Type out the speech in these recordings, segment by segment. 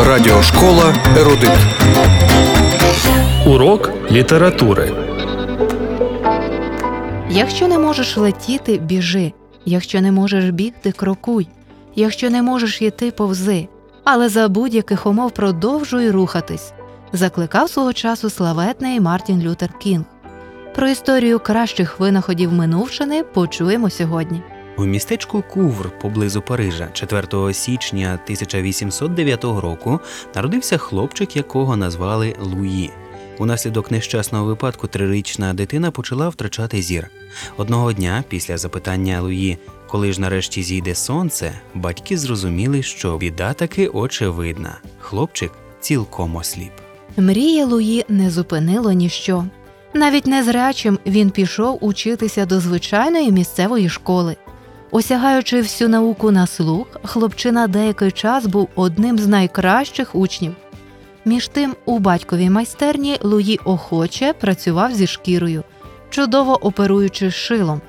Радіошкола «Ерудит». Урок літератури. Якщо не можеш летіти, біжи. Якщо не можеш бігти, крокуй. Якщо не можеш йти, повзи. Але за будь-яких умов продовжуй рухатись. Закликав свого часу славетний Мартін Лютер Кінг. Про історію кращих винаходів минувшини почуємо сьогодні. У містечку Кувр поблизу Парижа 4 січня 1809 року народився хлопчик, якого назвали Луї. Унаслідок нещасного випадку 3-річна дитина почала втрачати зір. Одного дня, після запитання Луї, коли ж нарешті зійде сонце, батьки зрозуміли, що біда таки очевидна. Хлопчик цілком осліп. Мрії Луї не зупинило ніщо. Навіть незрячим він пішов учитися до звичайної місцевої школи. Осягаючи всю науку на слух, хлопчина деякий час був одним з найкращих учнів. Між тим, у батьковій майстерні Луї охоче працював зі шкірою, чудово оперуючи шилом.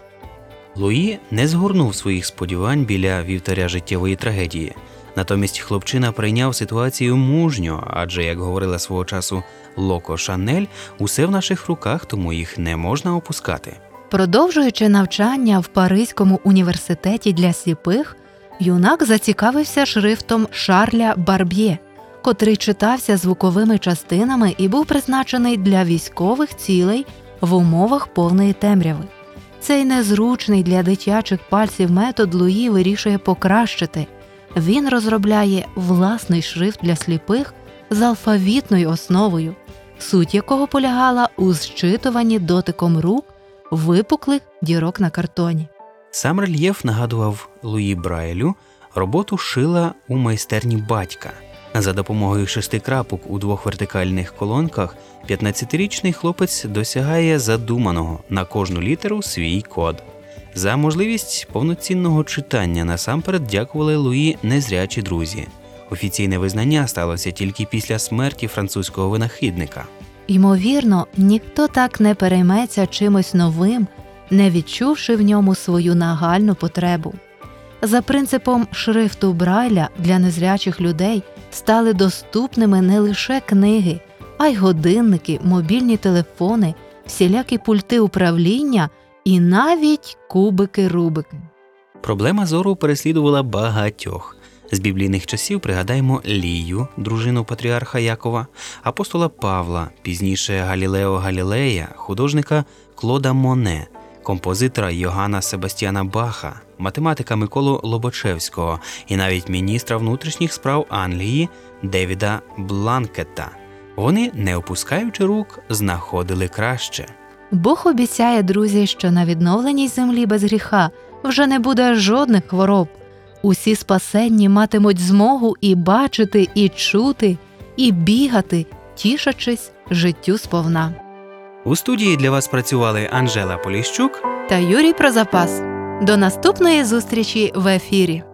Луї не згорнув своїх сподівань біля вівтаря життєвої трагедії. Натомість хлопчина прийняв ситуацію мужньо, адже, як говорила свого часу Локо Шанель, усе в наших руках, тому їх не можна опускати. Продовжуючи навчання в Паризькому університеті для сліпих, юнак зацікавився шрифтом Шарля Барб'є, котрий читався звуковими частинами і був призначений для військових цілей в умовах повної темряви. Цей незручний для дитячих пальців метод Луї вирішує покращити. Він розробляє власний шрифт для сліпих з алфавітною основою, суть якого полягала у зчитуванні дотиком рук випуклих дірок на картоні. Сам рельєф нагадував Луї Брайлю роботу шила у майстерні батька. За допомогою 6 крапок у 2 вертикальних колонках 15-річний хлопець досягає задуманого: на кожну літеру свій код. За можливість повноцінного читання насамперед дякували Луї незрячі друзі. Офіційне визнання сталося тільки після смерті французького винахідника. Ймовірно, ніхто так не перейметься чимось новим, не відчувши в ньому свою нагальну потребу. За принципом шрифту Брайля для незрячих людей стали доступними не лише книги, а й годинники, мобільні телефони, всілякі пульти управління і навіть кубики-рубики. Проблема зору переслідувала багатьох. З біблійних часів пригадаємо Лію, дружину патріарха Якова, апостола Павла, пізніше Галілео Галілея, художника Клода Моне, композитора Йоганна Себастьяна Баха, математика Миколу Лобачевського і навіть міністра внутрішніх справ Англії Девіда Бланкетта. Вони, не опускаючи рук, знаходили краще. Бог обіцяє, друзі, що на відновленій землі без гріха вже не буде жодних хвороб. Усі спасенні матимуть змогу і бачити, і чути, і бігати, тішачись життю сповна. У студії для вас працювали Анжела Поліщук та Юрій Прозапас. До наступної зустрічі в ефірі.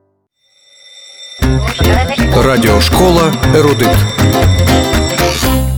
Радіошкола «Ерудит».